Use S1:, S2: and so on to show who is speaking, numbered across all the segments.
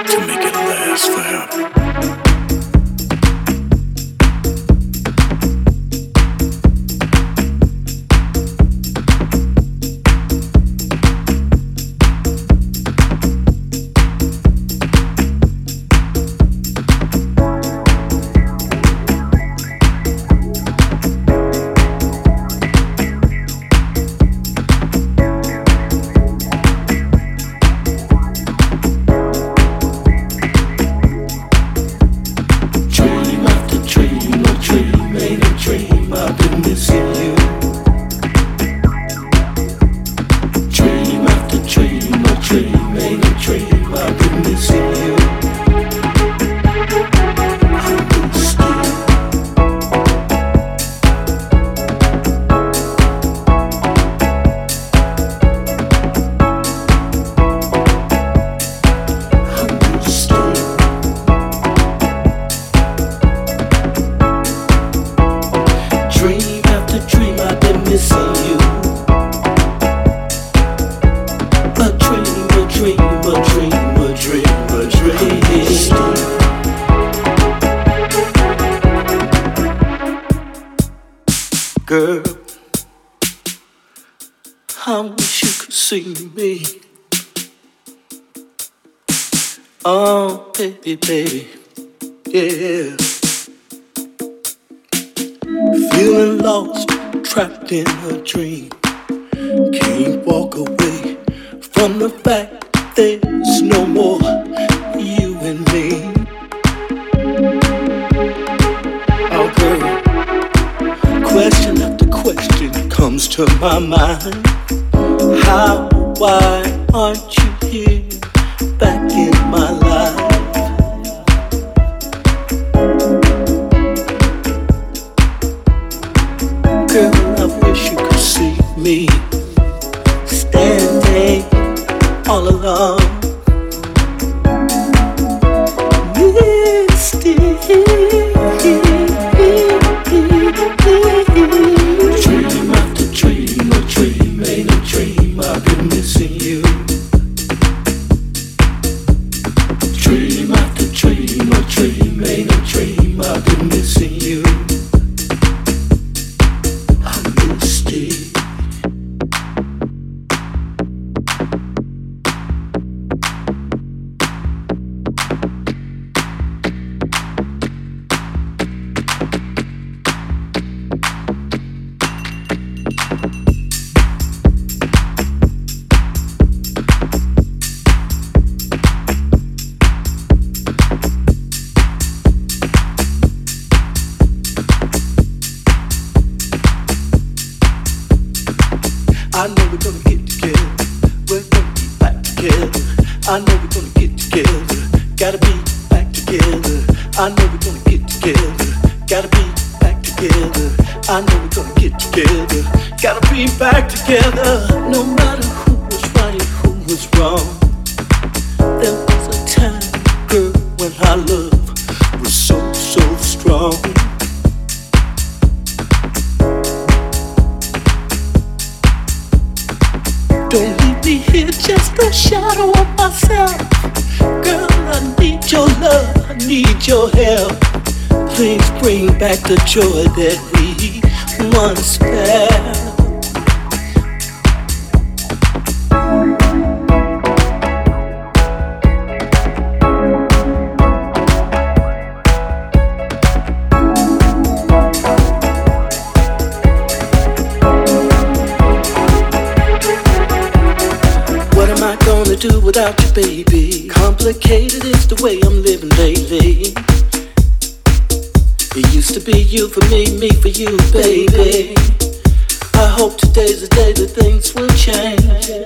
S1: to make it last forever.
S2: Girl, I wish you could see me. Oh, baby, baby, yeah. Feeling lost, trapped in a dream. Can't walk away from the fact there's no more you and me. Oh, girl. Question after question comes to my mind. How, why aren't you here back in my life? Girl, I wish you could see me standing all alone. Misty. Dream after dream, a dream ain't a dream. I've been missing you. Dream after dream, a dream ain't a dream. I've been missing you. I missed it. I know we're gonna get together. We're gonna be back together. I know we're gonna get together. Gotta be back together. I know we're gonna get together. Gotta be back together. I know we're gonna get together. Gotta be back together. No matter who was right, who was wrong. There was a time, girl, when our love was so, so strong. Don't leave me here, just a shadow of myself. Girl, I need your love, I need your help. Please bring back the joy that we once felt. Do without you, baby. Complicated is the way I'm living lately. It used to be you for me, me for you, baby. I hope today's the day that things will change.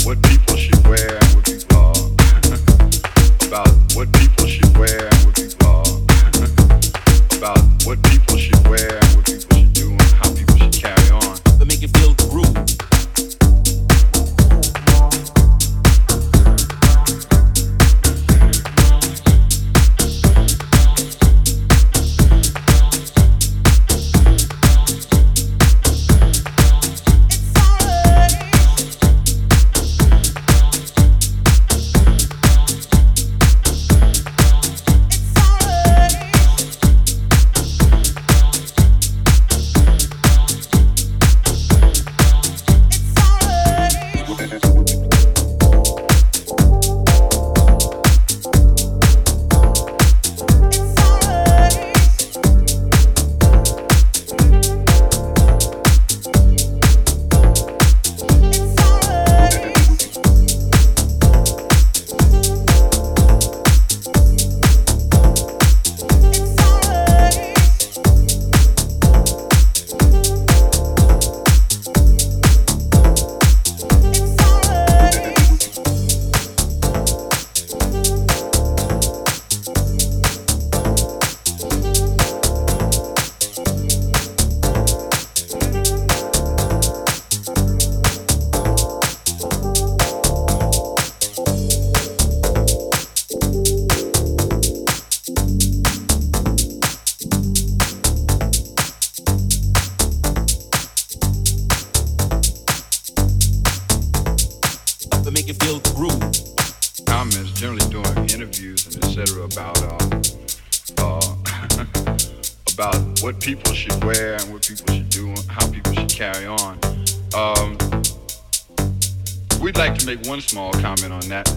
S1: what people should wear and what people about what people should wear and what people about what people should wear and what people should do and how people should carry on.
S3: But make you feel the groove.
S1: People should wear and what people should do and how people should carry on. We'd like to make one small comment on that.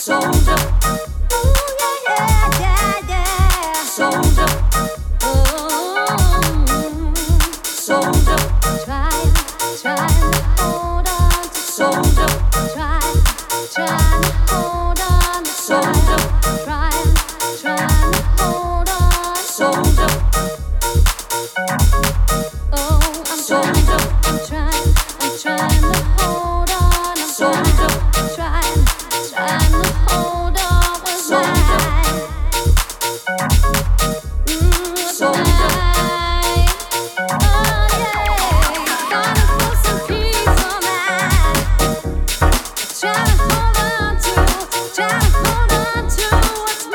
S3: Try to hold on to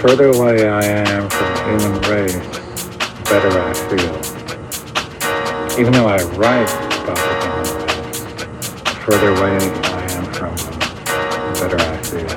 S3: further away I am from the human race, the better I feel. Even though I write about the human race, the further away I am from them, the better I feel.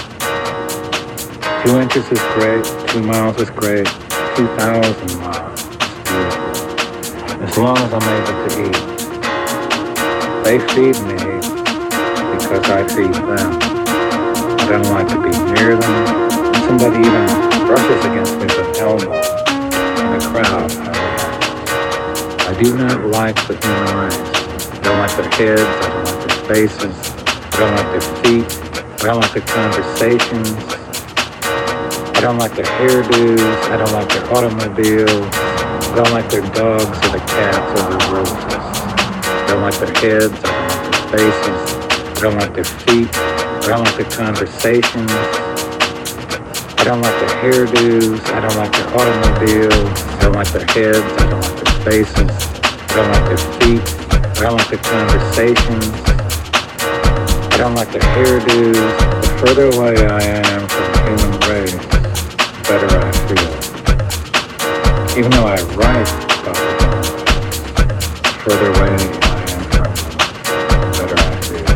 S3: 2 inches is great, 2 miles is great, 2,000 miles is beautiful. As long as I'm able to eat. They feed me because I feed them. I don't like to be near them. When somebody even brushes against me with an elbow in a crowd, I do not like the human race. I don't like their heads, I don't like their faces, I don't like their feet, I don't like their conversations, I don't like their hairdos, I don't like their automobiles, I don't like their dogs or the cats or the roses. I don't like their heads, I don't like their faces, I don't like their feet, I don't like their conversations, I don't like their hairdos, I don't like their automobiles, I don't like their heads, I don't like their faces, I don't like their feet, I don't like their conversations, I don't like their hairdos. The further away I am from the human race, the better I feel. Even though I write about the human race, the further away I am from them, the better I feel.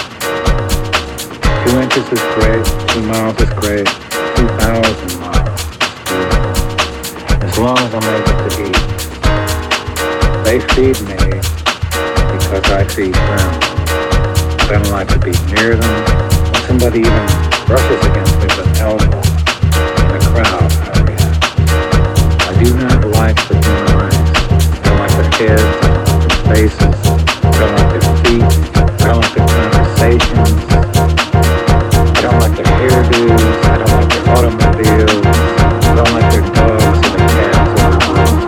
S3: 2 inches is great, 2 miles is great, 2,000 miles is beautiful. As long as I'm able to eat. They feed me because I feed them. I don't like to be near them. When somebody even brushes against me with an elbow in the crowd, I react. I do not like the human race. I don't like their heads, I don't like their faces, I don't like their feet, I don't like their conversations, I don't like their hairdos, I don't like their automobiles, I don't like their dogs or their cats or their roses.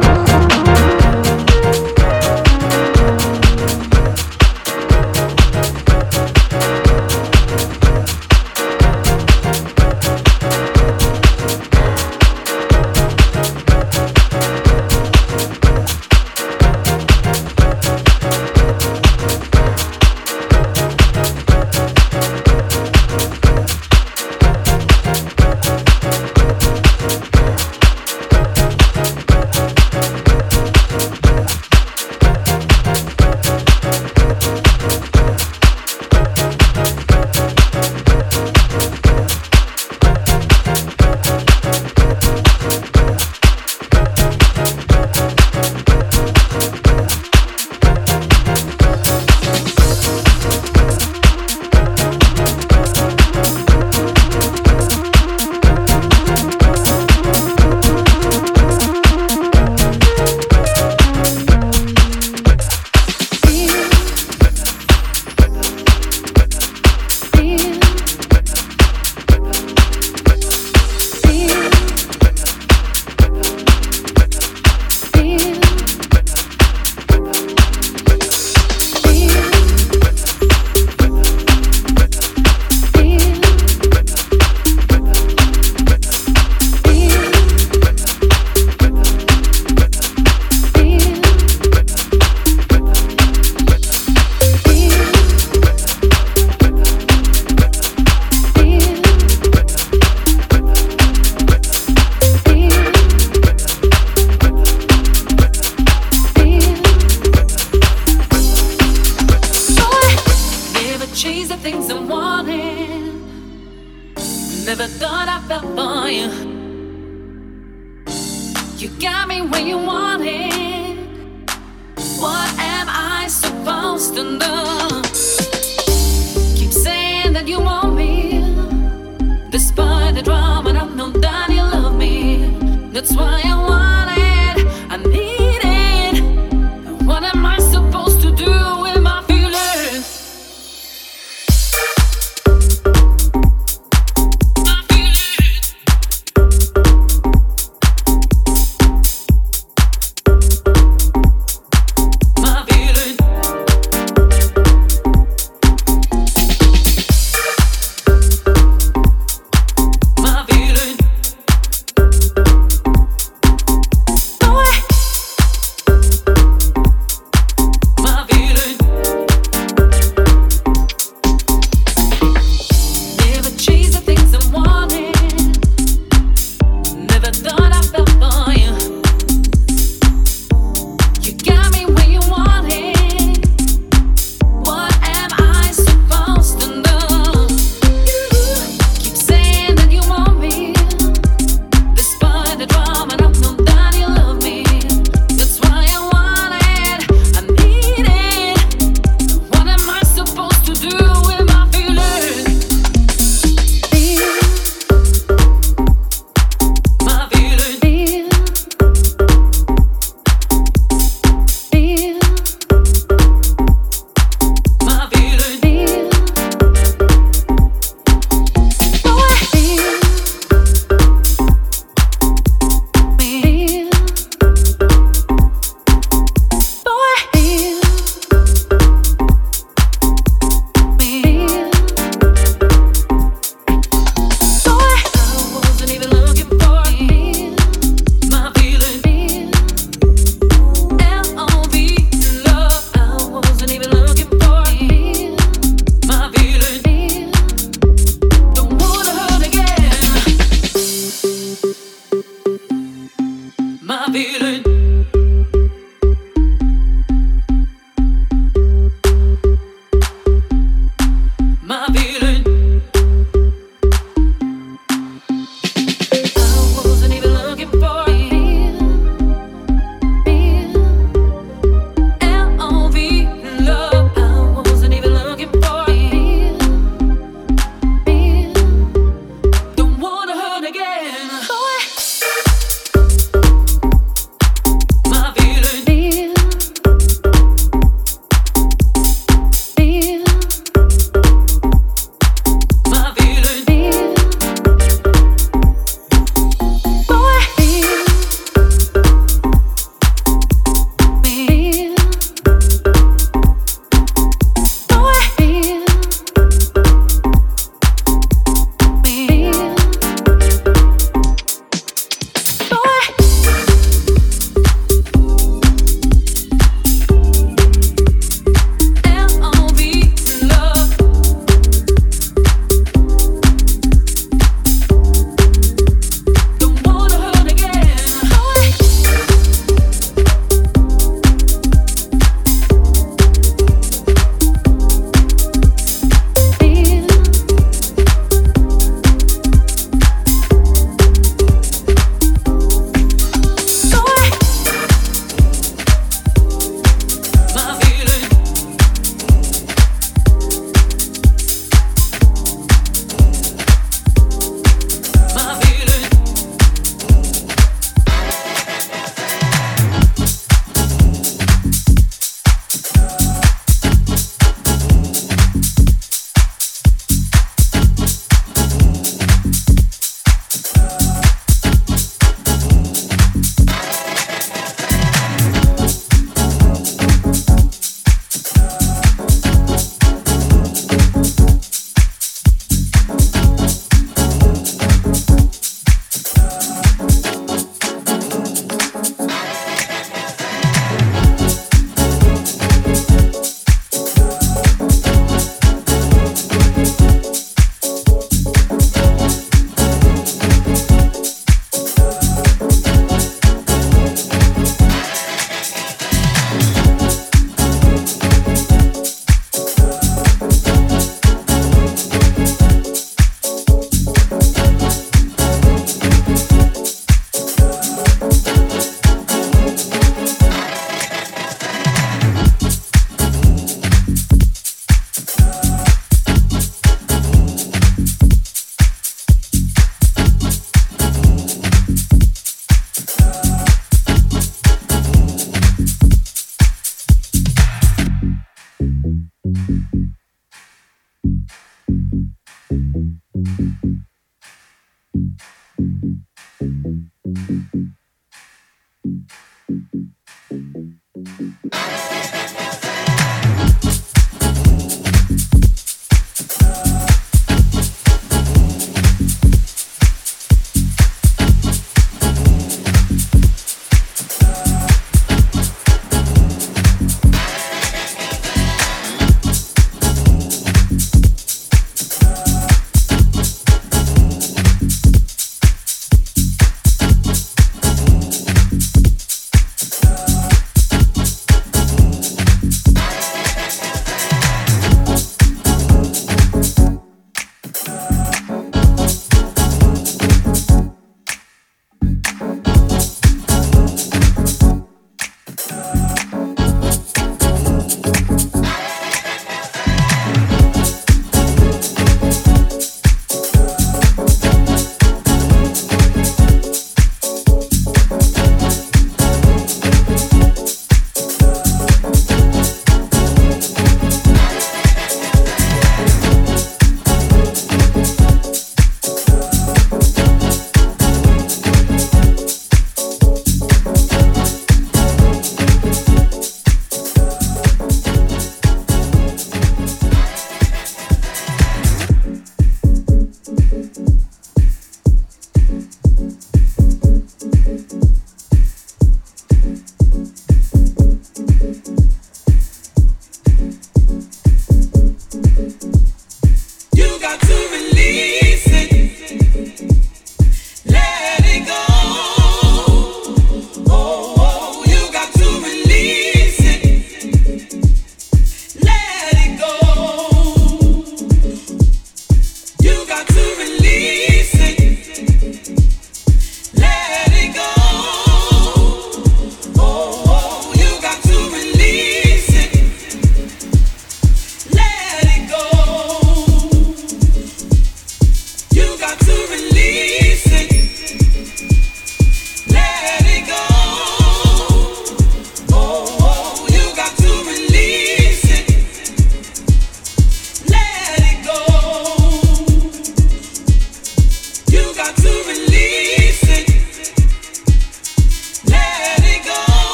S4: My feeling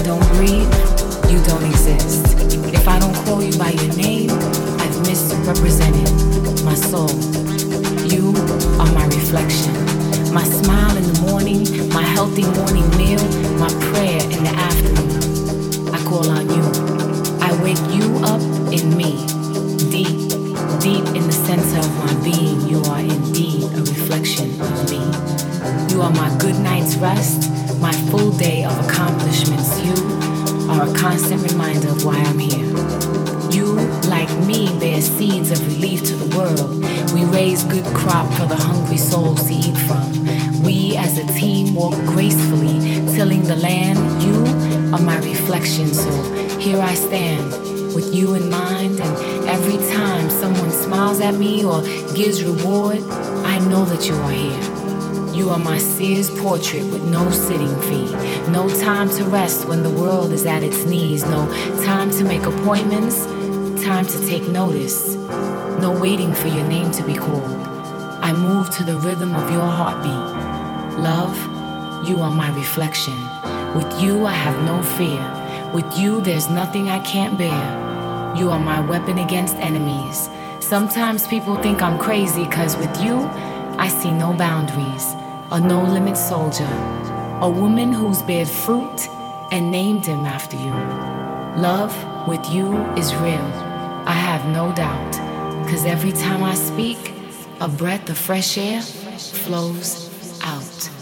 S4: don't breathe, you don't exist. If I don't call you by your name, I've misrepresented my soul. You are my reflection. My smile in the morning, my healthy morning meal, my prayer in the afternoon. I call on you. I wake you up in me. Deep in the center of my being, you are indeed a reflection of me. You are my good night's rest, my full day of accomplishments. You are a constant reminder of why I'm here. You, like me, bear seeds of relief to the world. We raise good crop for the hungry souls to eat from. We as a team walk gracefully, tilling the land. You are my reflection, so here I stand with you in mind, and every time someone smiles at me or gives reward, I know that you are here. You are my Sears portrait with no sitting fee. No time to rest when the world is at its knees. No time to make appointments, time to take notice. No waiting for your name to be called. I move to the rhythm of your heartbeat. Love, you are my reflection. With you I have no fear. With you there's nothing I can't bear. You are my weapon against enemies. Sometimes people think I'm crazy, cause with you I see no boundaries. A no-limit soldier. A woman who's bared fruit and named him after you. Love with you is real. I have no doubt. Cause every time I speak, a breath of fresh air flows out.